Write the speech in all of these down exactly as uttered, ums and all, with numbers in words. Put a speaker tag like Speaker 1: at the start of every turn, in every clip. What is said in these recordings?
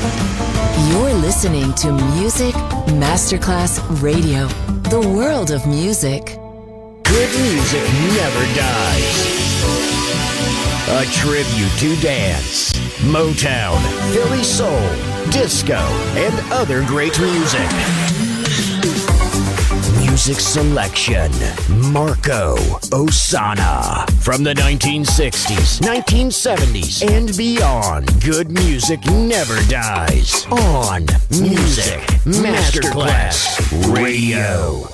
Speaker 1: You're listening to Music Masterclass Radio, the world of music.
Speaker 2: Good music never dies. A tribute to dance, Motown, Philly soul, disco, and other great music. Music selection, Marco Ossanna. From the nineteen sixties, nineteen seventies, and beyond, good music never dies. On Music Masterclass Radio.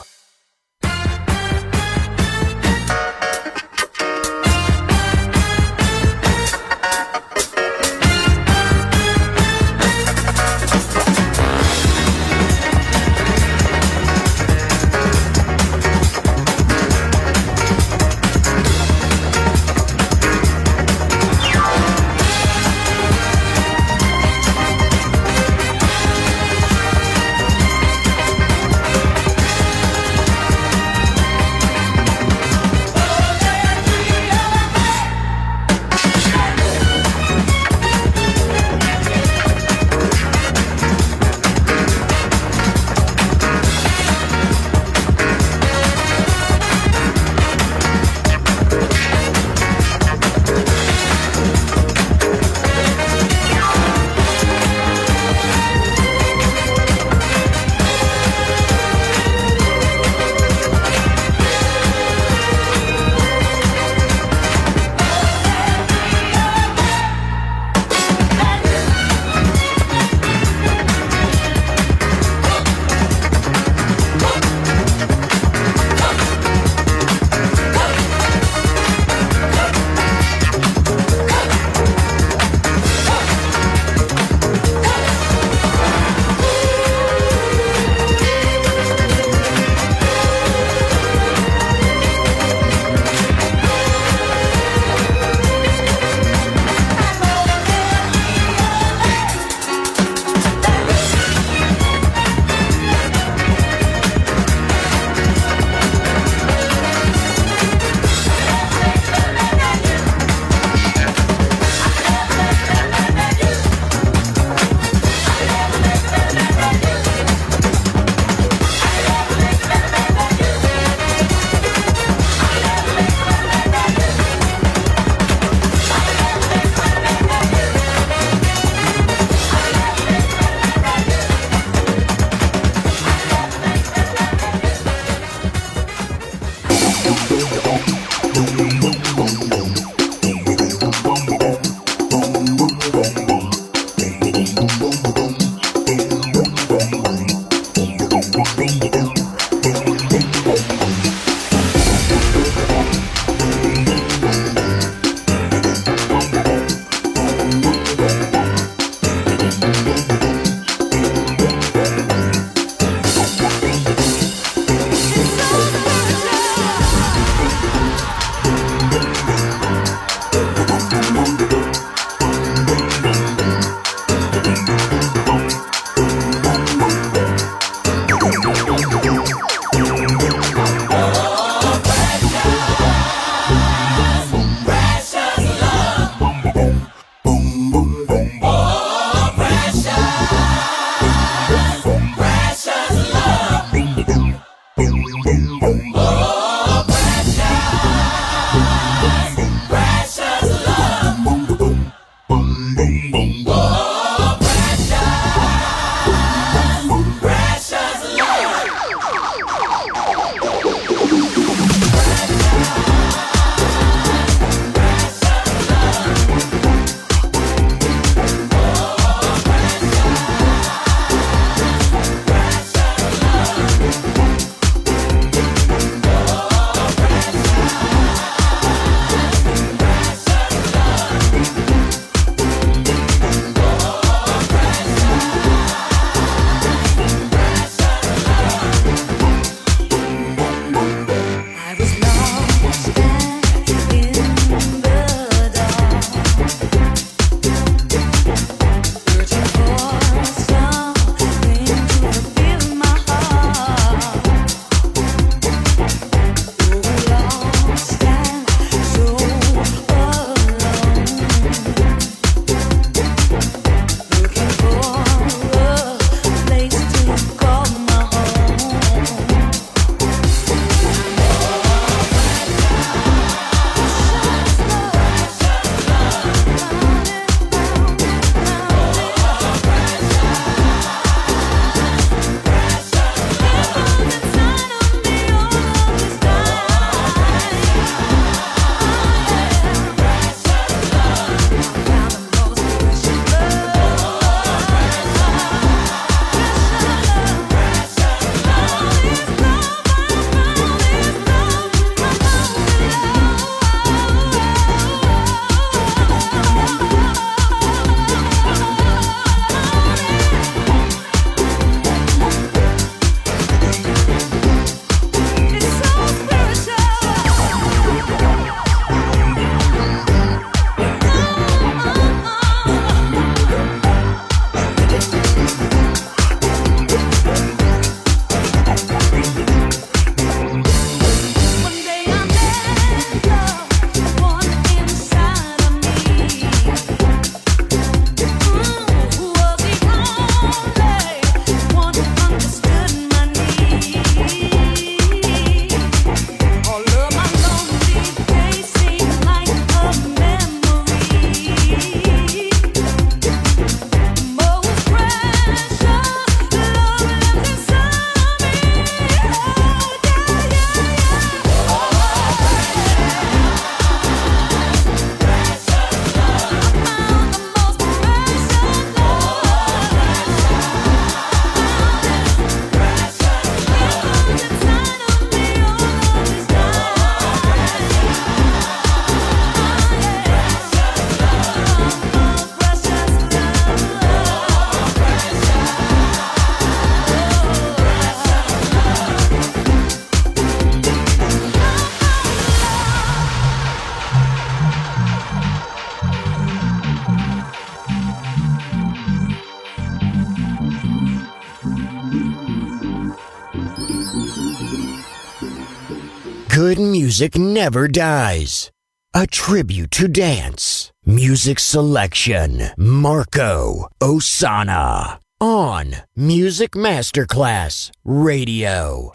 Speaker 2: good music never dies. A tribute to dance. Music selection. Marco Ossanna. On Music Masterclass Radio.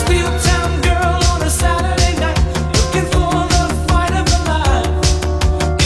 Speaker 3: Girl on a Saturday night, looking for the fight of her life.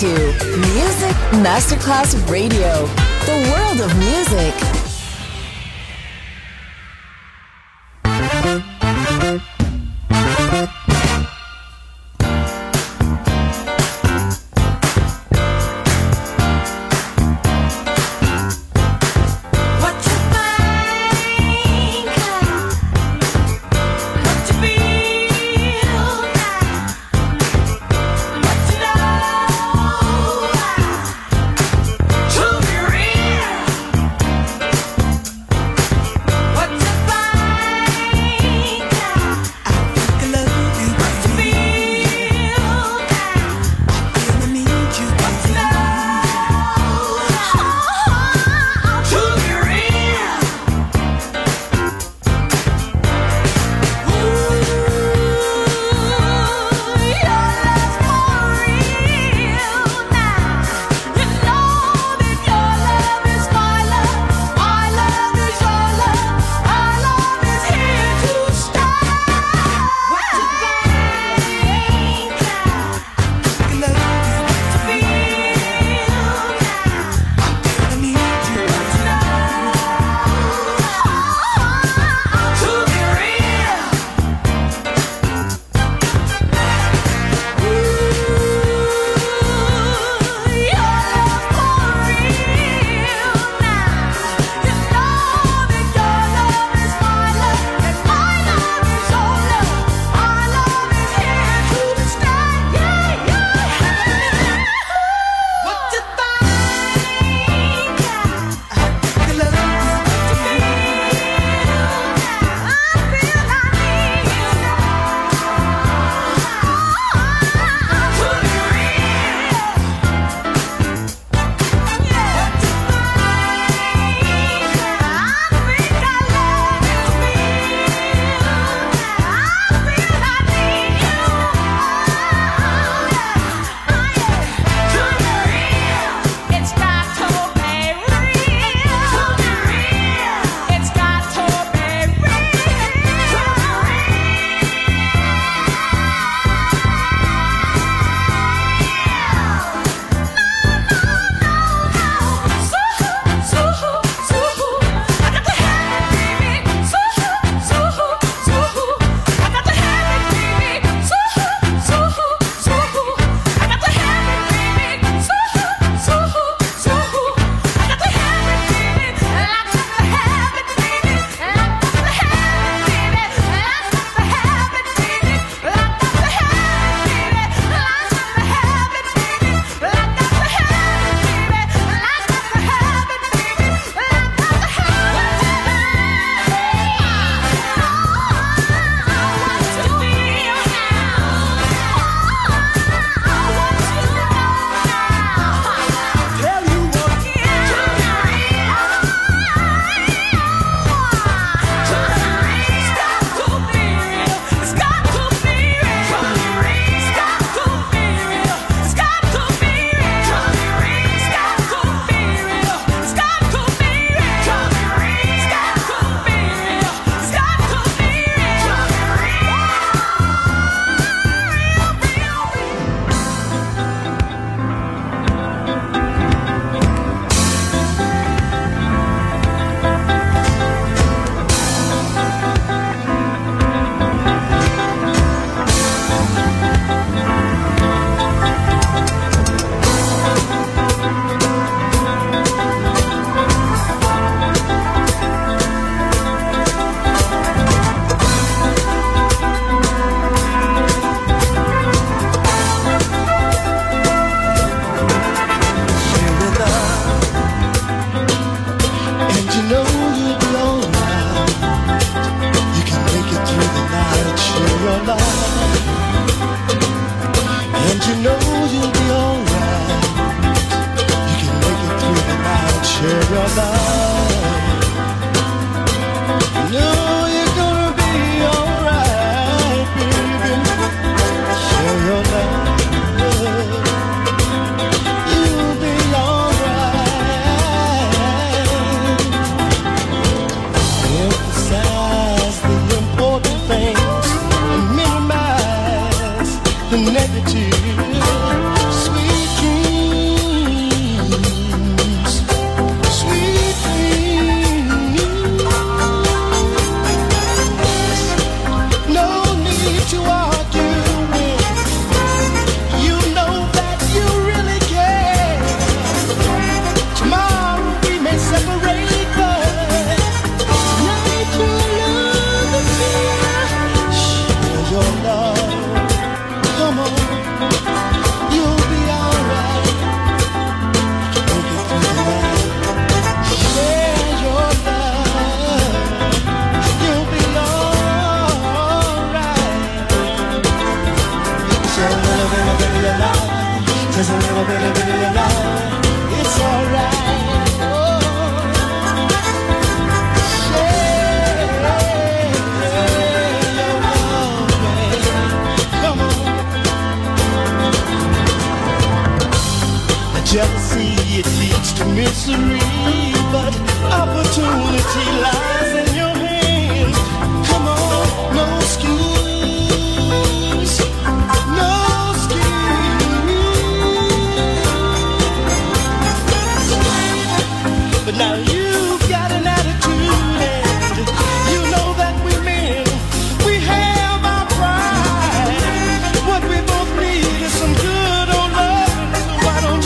Speaker 1: to Music Masterclass Radio, the world of music.
Speaker 3: the negative. Sweet dreams. Jealousy, it leads to misery, but opportunity lies in your hands. Come on, no schemes, no schemes. But now you've got an attitude, and you know that we men, we have our pride. What we both need is some good old love, so why don't you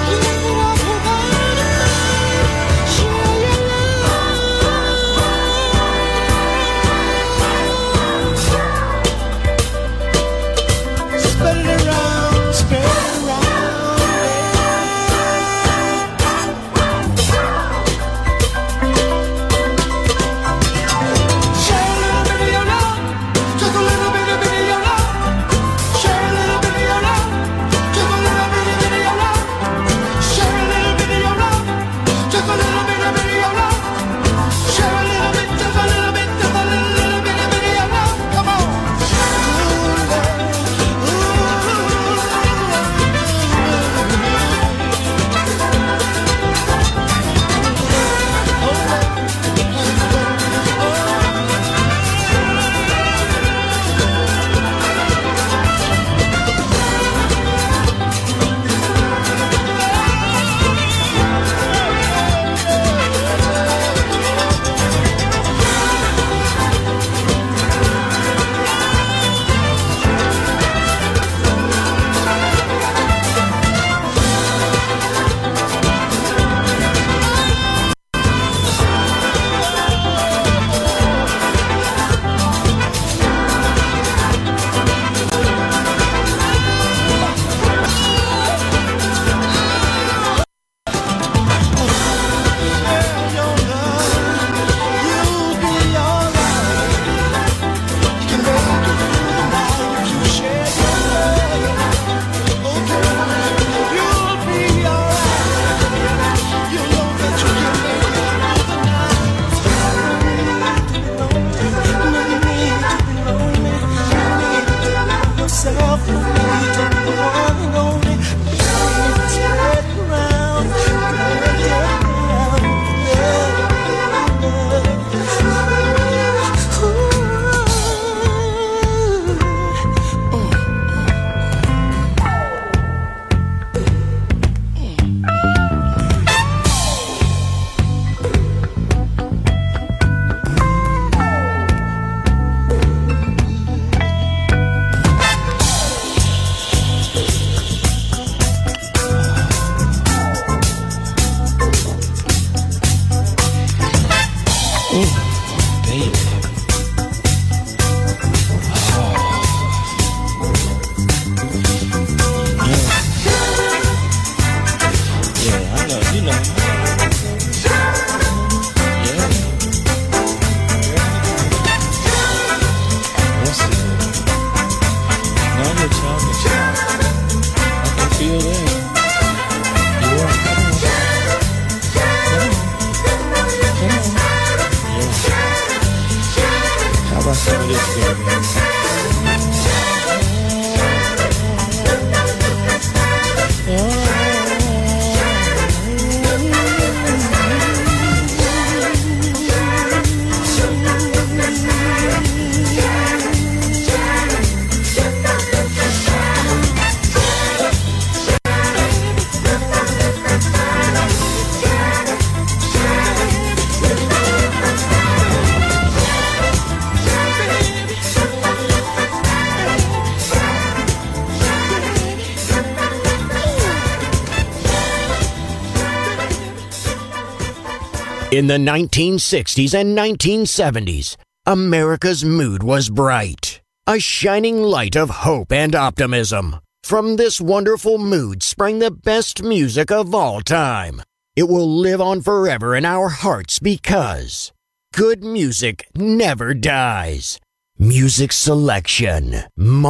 Speaker 2: In the nineteen sixties and nineteen seventies, America's mood was bright, a shining light of hope and optimism. From this wonderful mood sprang the best music of all time. It will live on forever in our hearts because good music never dies. Music selection,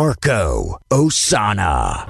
Speaker 2: Marco Ossanna.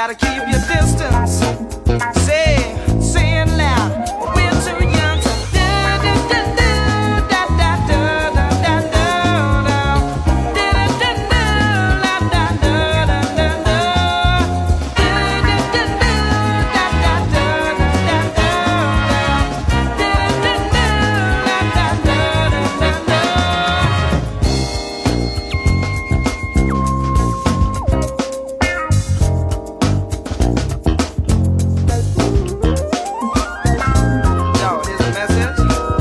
Speaker 3: gotta keep your distance. Say, say it loud. We're too young to do, do, do, do, da, da, do, da, da, do, do. Do, do, do, do, la, da, do, da, da, do. Do, do, do, do, da, da, do, da, da, do. Do, do, do, do, la, da, do, da, da, do. Yo, here's a message.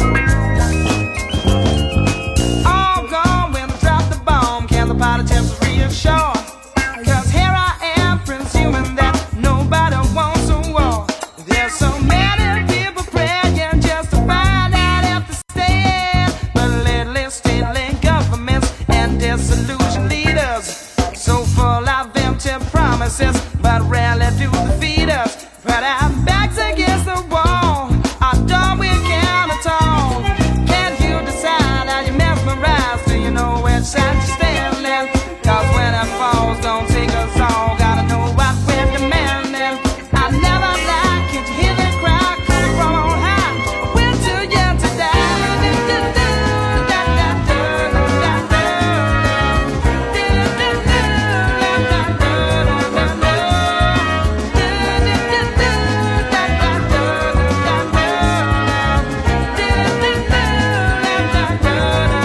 Speaker 3: All gone when I drop the bomb. Can the pilot just reassure? 'Cause here I am, presuming that nobody wants a war. There's so many people praying just to find out if they stand. But lately, state governments and disillusioned leaders so full of empty promises, but rarely do defeat us. But our backs against the wall, our door we can't at all. Can you decide? Are you mesmerized? Do you know which side you're standing? 'Cause when it falls, don't take us all. Gotta know what we're demanding. I never lie, can't you hear the cry coming from on high? We're too young to die. Do, do, do, da, da, do, da, da, do. Do, do, do, da, da, do, da, da, do. Do, do, do, do, da, da, do, da, da, do. Do, do, do, da, da, do, da, da, do. Do, do, do, and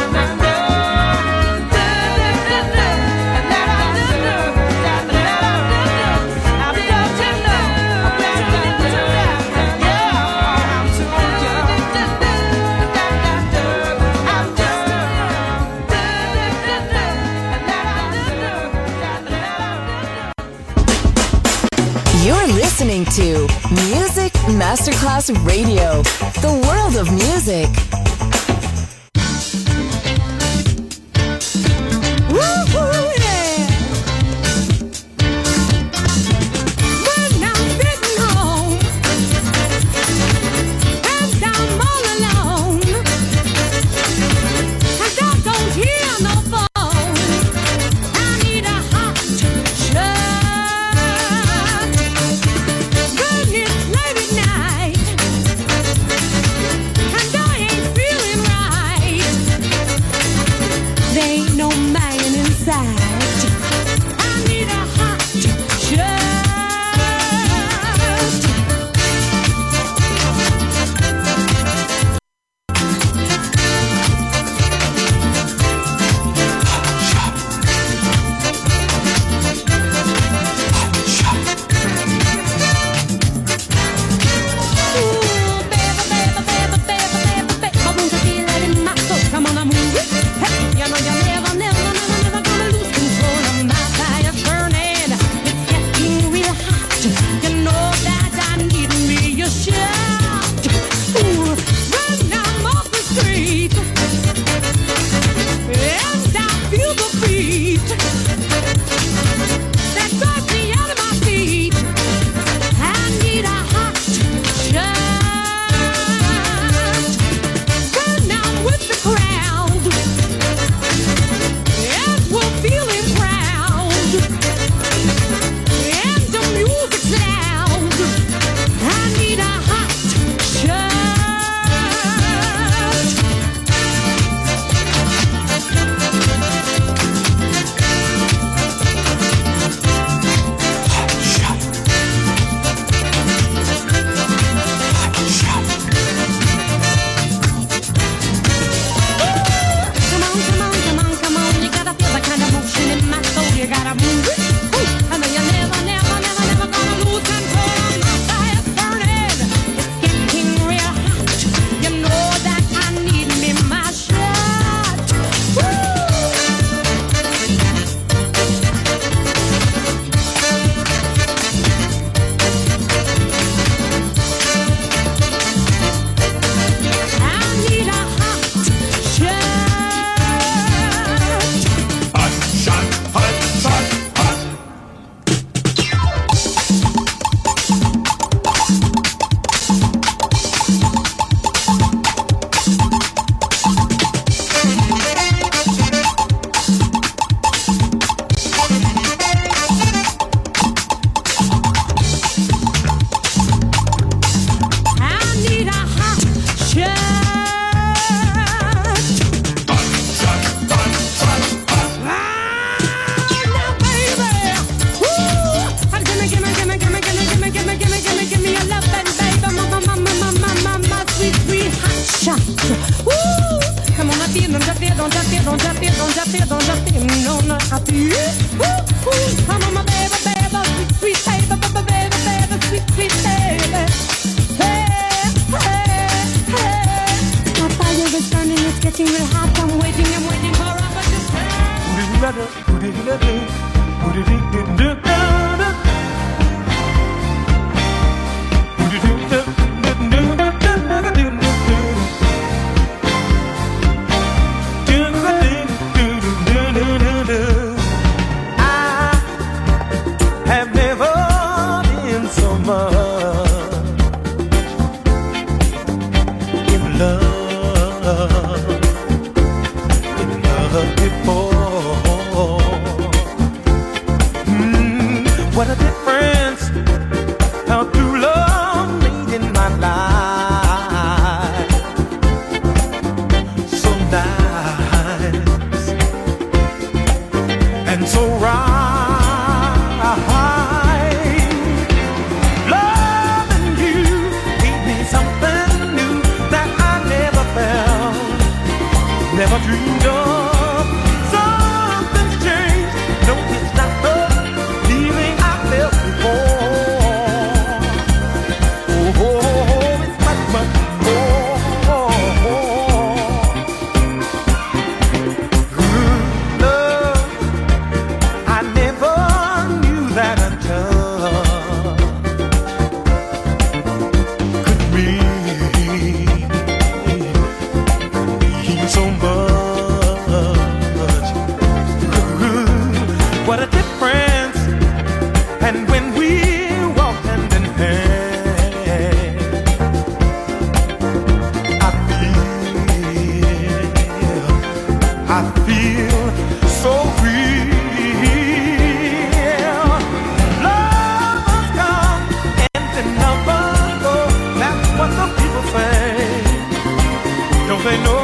Speaker 3: that I do, da, da, da, do. I've got to know, I've got to do that. Yeah, I'm too young. Da, da, do, I'm just too young. Da, da, da, do, and that I do, da, da, da, do.
Speaker 1: You're listening to Music Masterclass Radio, the world of music.
Speaker 4: Woo-hoo, yeah. When I'm sitting home and I'm all alone, and I don't hear no phone, I need a hot shot. Goodness, late at night, and I ain't don't you feel, don't you feel, don't you feel, don't you feel, no, no, I feel. Ooh, ooh, come on, my baby, baby, sweet, sweet baby, baby, baby, sweet, sweet baby. Hey, hey, hey. My fire is burning, it's getting real hot. I'm waiting, I'm waiting for Robert to
Speaker 3: what a difference how true love made in my life. So nice and so right. Loving you gave me something new that I never felt, never dreamed of. Something's changed. No, it's not the feeling I felt before. Oh, oh, oh, it's much, much more. Good love, I never knew that a touch could mean, mean so much. What a difference. And when we walk hand in hand, I feel, I feel so real. Love must come and then never go. That's what the people say. Don't they know?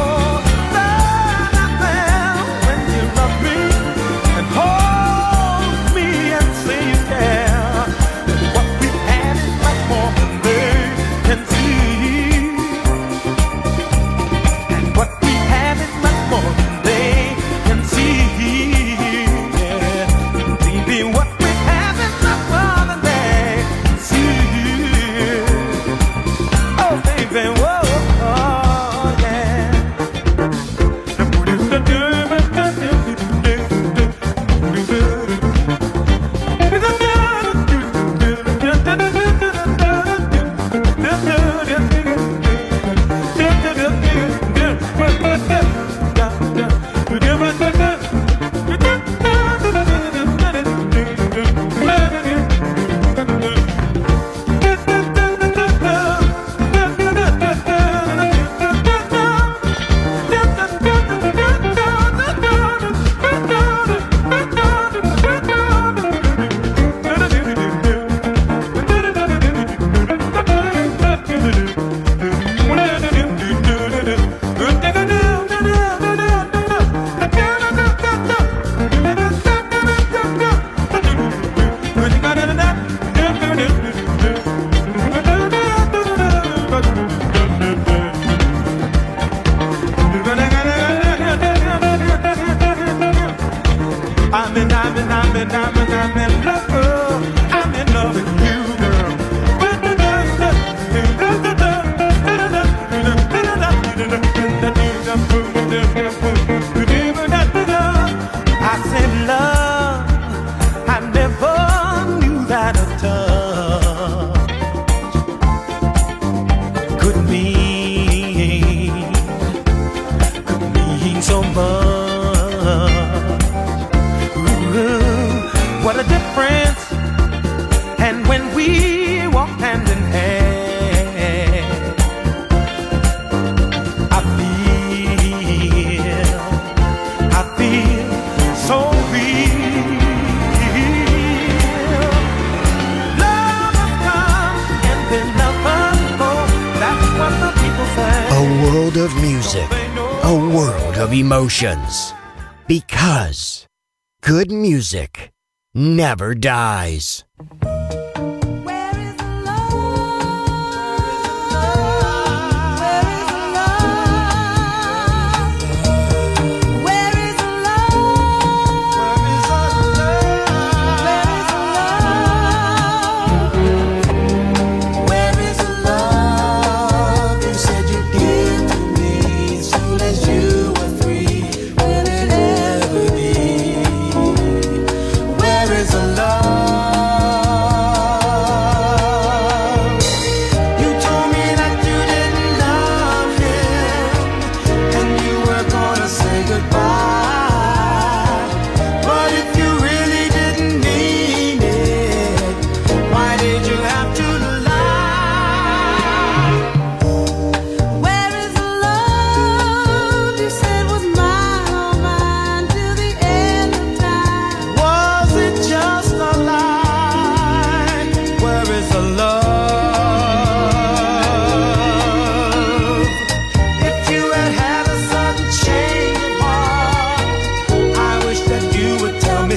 Speaker 3: I'm in, I'm in, I'm in, I'm in, I'm in love. I'm in love with you, girl. I said love, I never knew that a touch could mean, could mean so much. What a difference. And when we walk hand in hand, I feel, I feel so real. Love has come and then love must go. That's what the people say.
Speaker 2: A world of music, a world of emotions. Because good music never dies.
Speaker 4: Where is the love? Where is the love?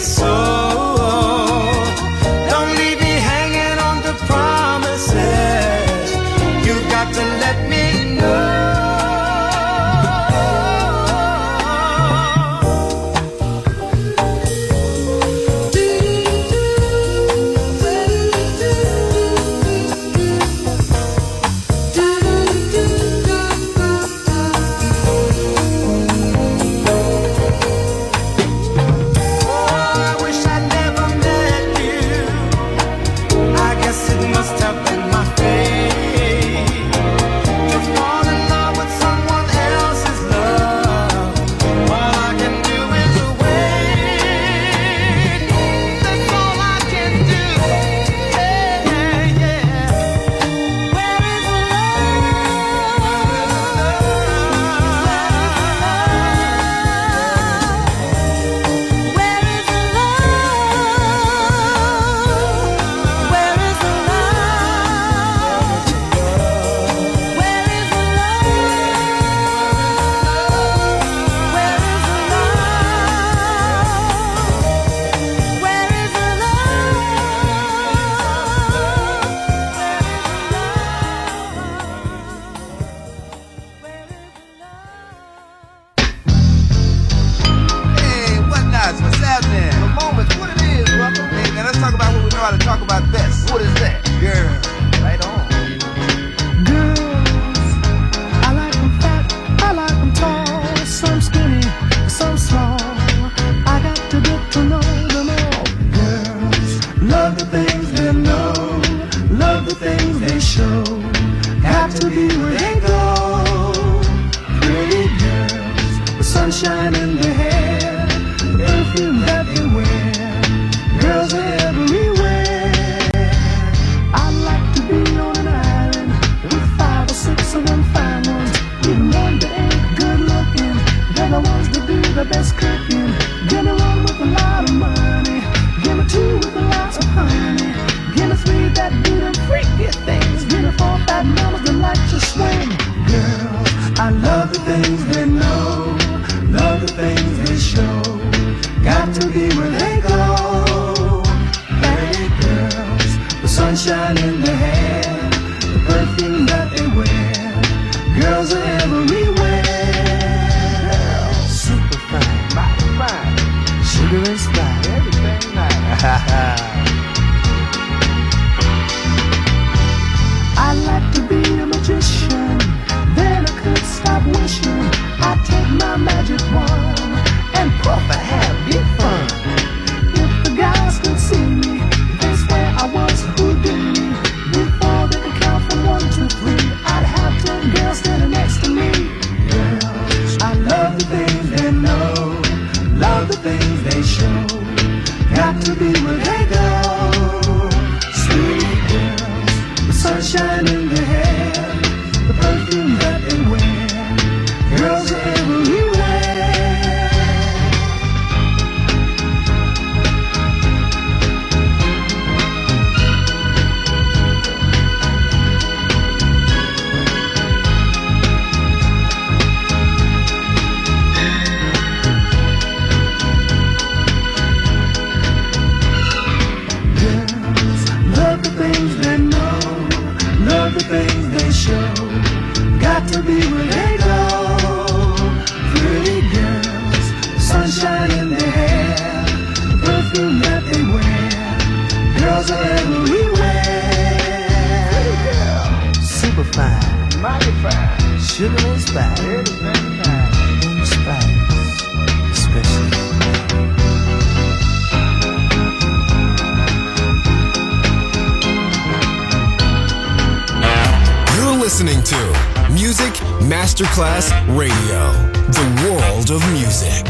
Speaker 5: Listening to Music Masterclass Radio, the world of music.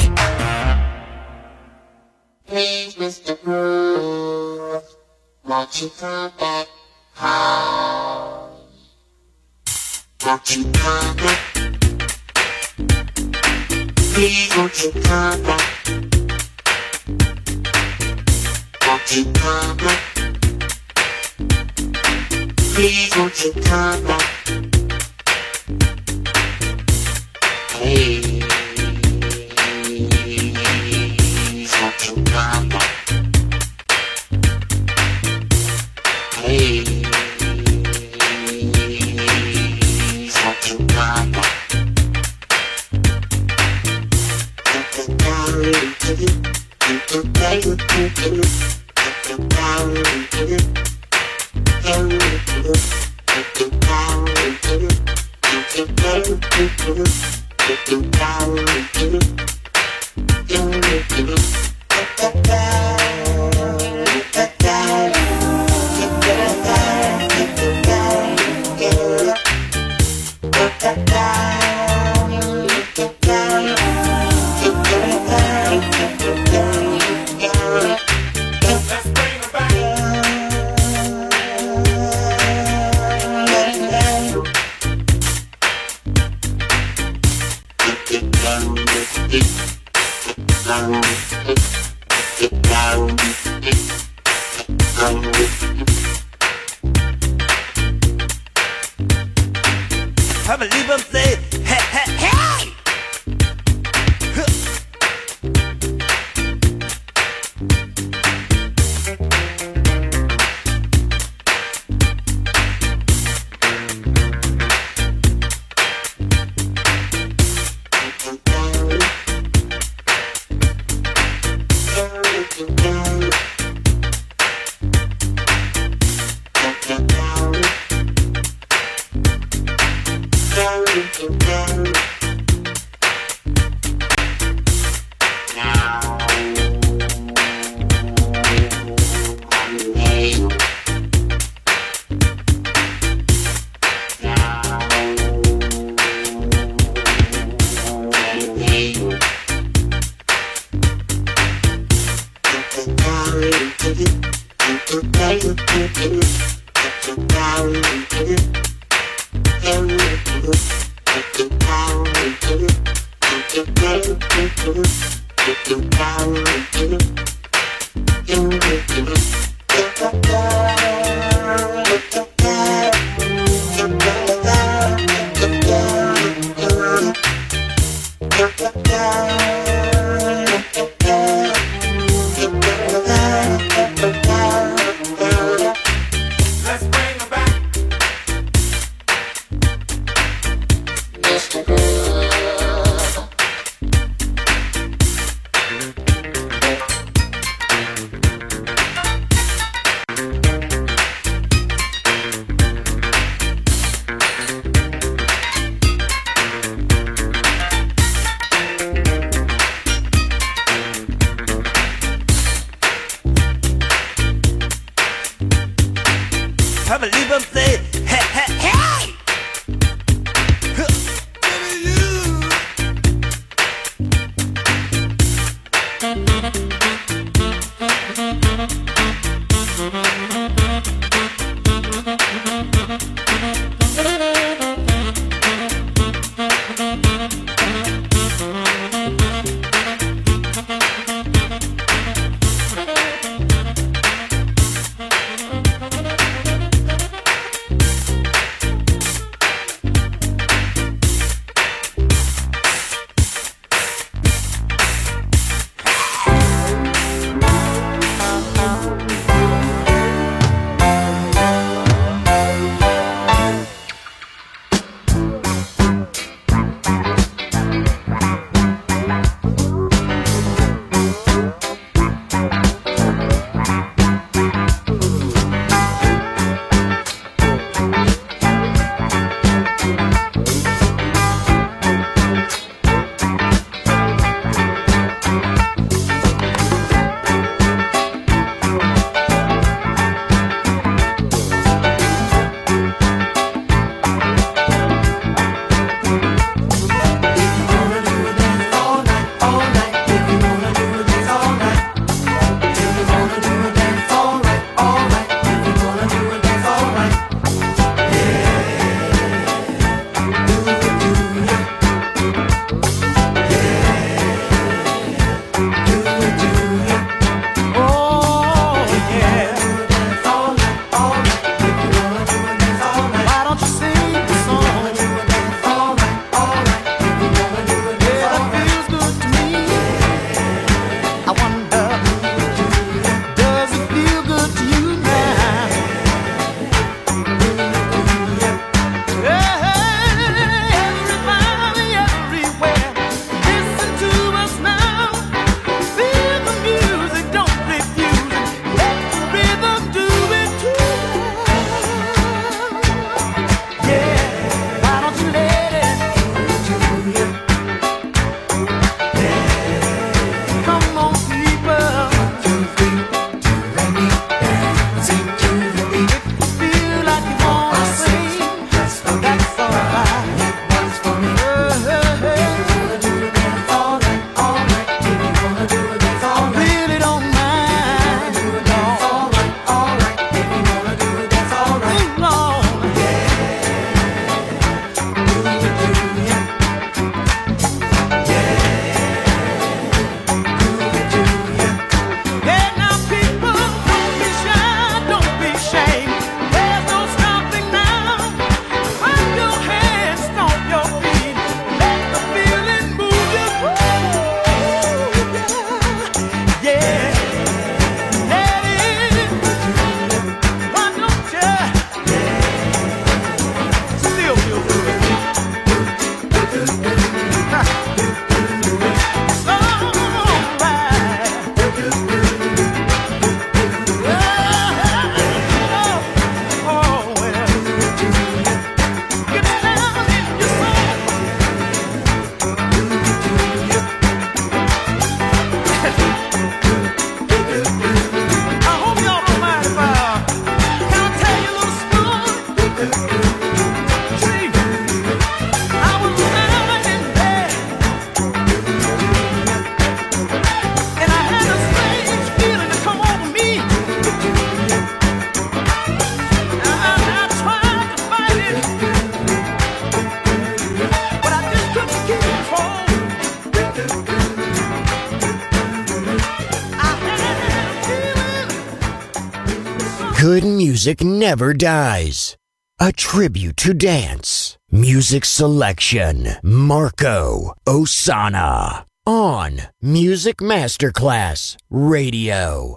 Speaker 6: Please, Mister Groove, won't you come back home? Won't you come back? Please, won't you come back? Won't you come back? Please, won't you come back? Please, won't you come back?
Speaker 7: I believe I'm saying, hey, hey, hey!
Speaker 2: Good music never dies. A tribute to dance. Music selection. Marco Ossanna. On Music Masterclass Radio.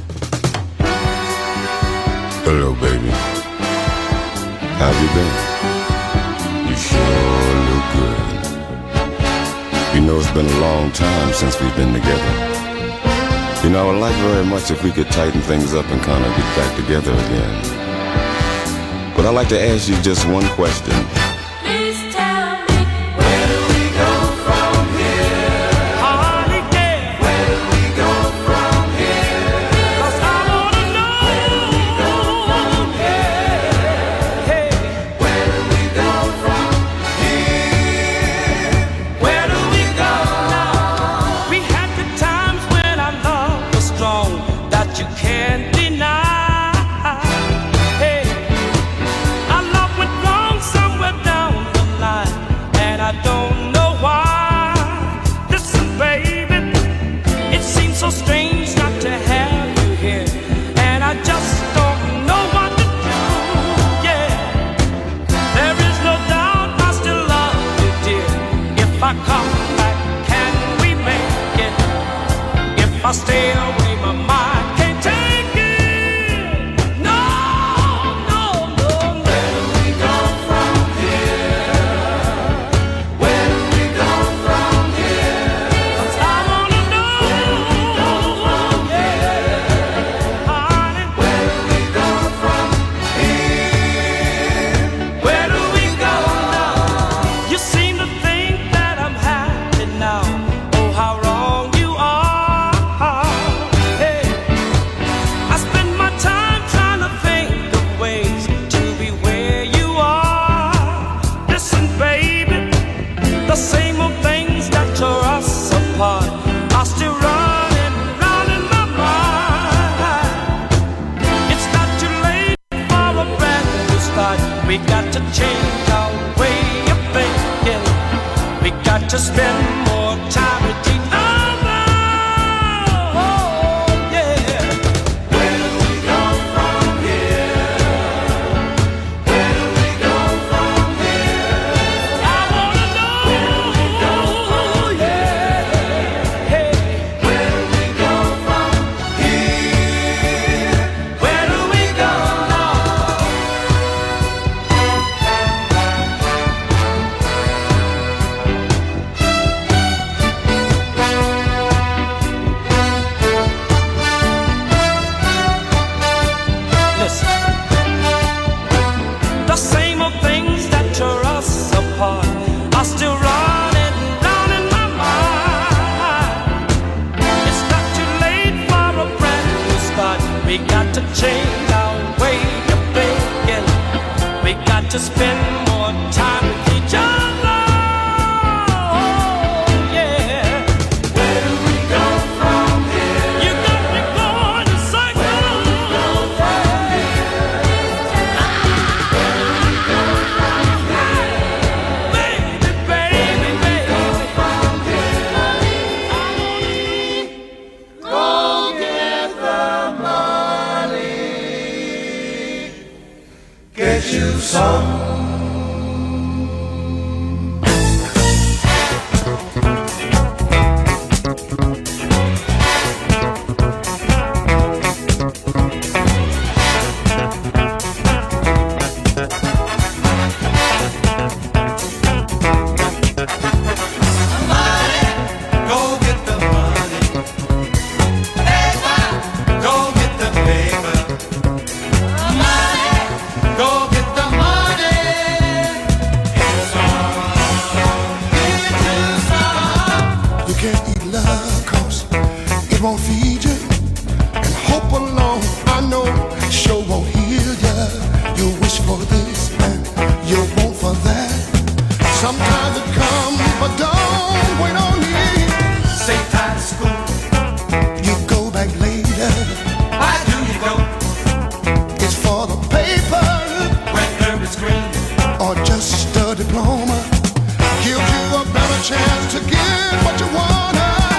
Speaker 8: Hello, baby. How you been? You sure look good. You know, it's been a long time since we've been together. You know, I would like very much if we could tighten things up and kind of get back together again. But I'd like to ask you just one question.
Speaker 3: Please tell me, where do we go from here? Hardly care. Where do we go from here? 'Cause I wanna know. Where do we go from here? Hey, where do we go from here? Where do we go now? We had the times when our love was strong that you can't deny. I don't know why. Listen, baby, it seems so strange not to have you here, and I just don't know what to do. Yeah, there is no doubt I still love you, dear. If I come back, can we make it? If I stay away, my mind can't take it. No, no, no, no. Where do we go from here? We got to change our way of thinking. We got to spend more time with each other. Oh, yeah. Where do we go from here? Where do we go from here? I wanna know. Where do we go from here? Hey, where do we go from here? Where do we go now? The same old things that tore us apart are still running round in my mind. It's not too late for a brand new start. We got to change our way of thinking. We got to spend more time with each other. Oh, yeah. Where do we go from here? You got me going in circles. Where do we go from here?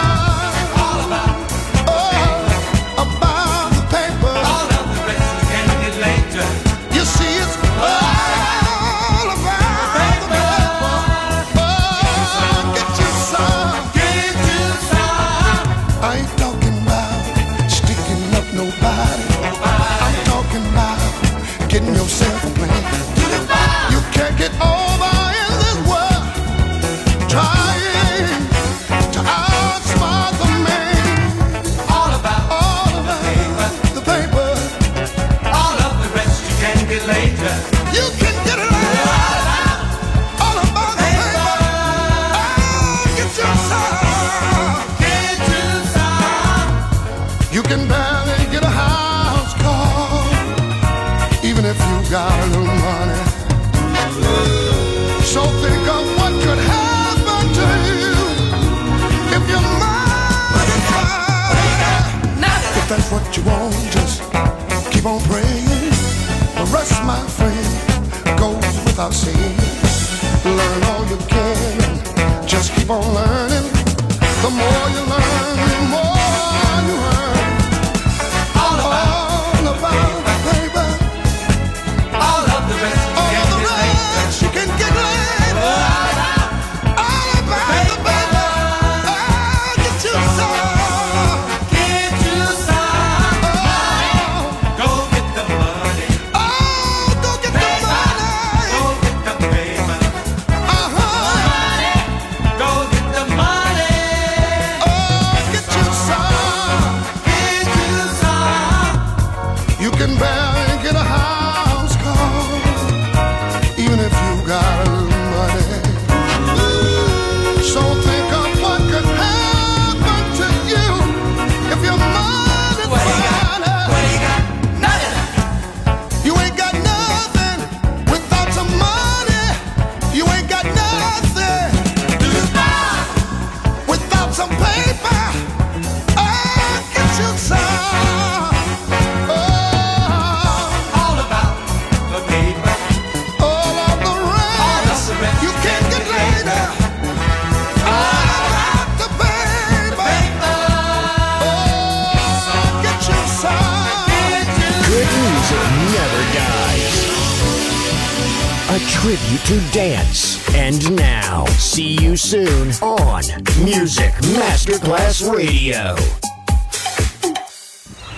Speaker 9: All about, oh, about the paper. All of the rest you can
Speaker 3: The more you learn, the more you earn. All about, all about the paper.
Speaker 7: All of the rest you
Speaker 3: All
Speaker 7: can
Speaker 3: of the
Speaker 7: get later.
Speaker 3: rest you can get later. All about the paper. Oh, get you some.
Speaker 7: Get you some money. Go get the money.
Speaker 3: Oh, go get the money.
Speaker 7: Go get the paper.
Speaker 3: Uh-huh.
Speaker 7: Money. Go get the money.
Speaker 3: Oh, get you some.
Speaker 7: Get you some.
Speaker 3: You can barely get a house call, even if you got a little money. So think of what could happen to you if your money
Speaker 7: What you got? What you got? Nothing.
Speaker 3: You ain't got nothing without some money. You ain't got nothing without some paper. Oh, get you some. Oh,
Speaker 7: All about the paper.
Speaker 3: all of the rest
Speaker 7: the rest
Speaker 3: you can't get later. All about the paper. Oh, get you some.
Speaker 2: Good music never dies. A tribute to dance. And now, see you soon on Music Masterclass Radio.